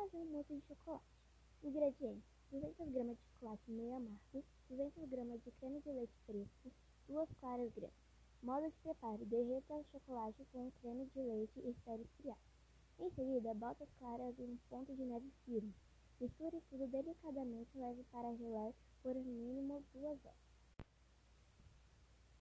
fazer um mousse de chocolate. Ingredientes: 200 gramas de chocolate meio amargo, 200 gramas de creme de leite fresco, 2 claras grandes. Modo de preparo: derreta o chocolate com o creme de leite e espere esfriar. Em seguida, bota as claras em um ponto de neve firme. Misture tudo delicadamente e leve para gelar por no mínimo 2 horas.